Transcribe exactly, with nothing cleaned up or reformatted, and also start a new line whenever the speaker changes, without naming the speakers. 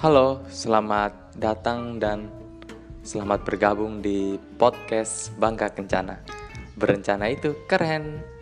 Halo, selamat datang dan selamat bergabung di podcast Bangka Kencana. Berencana itu keren.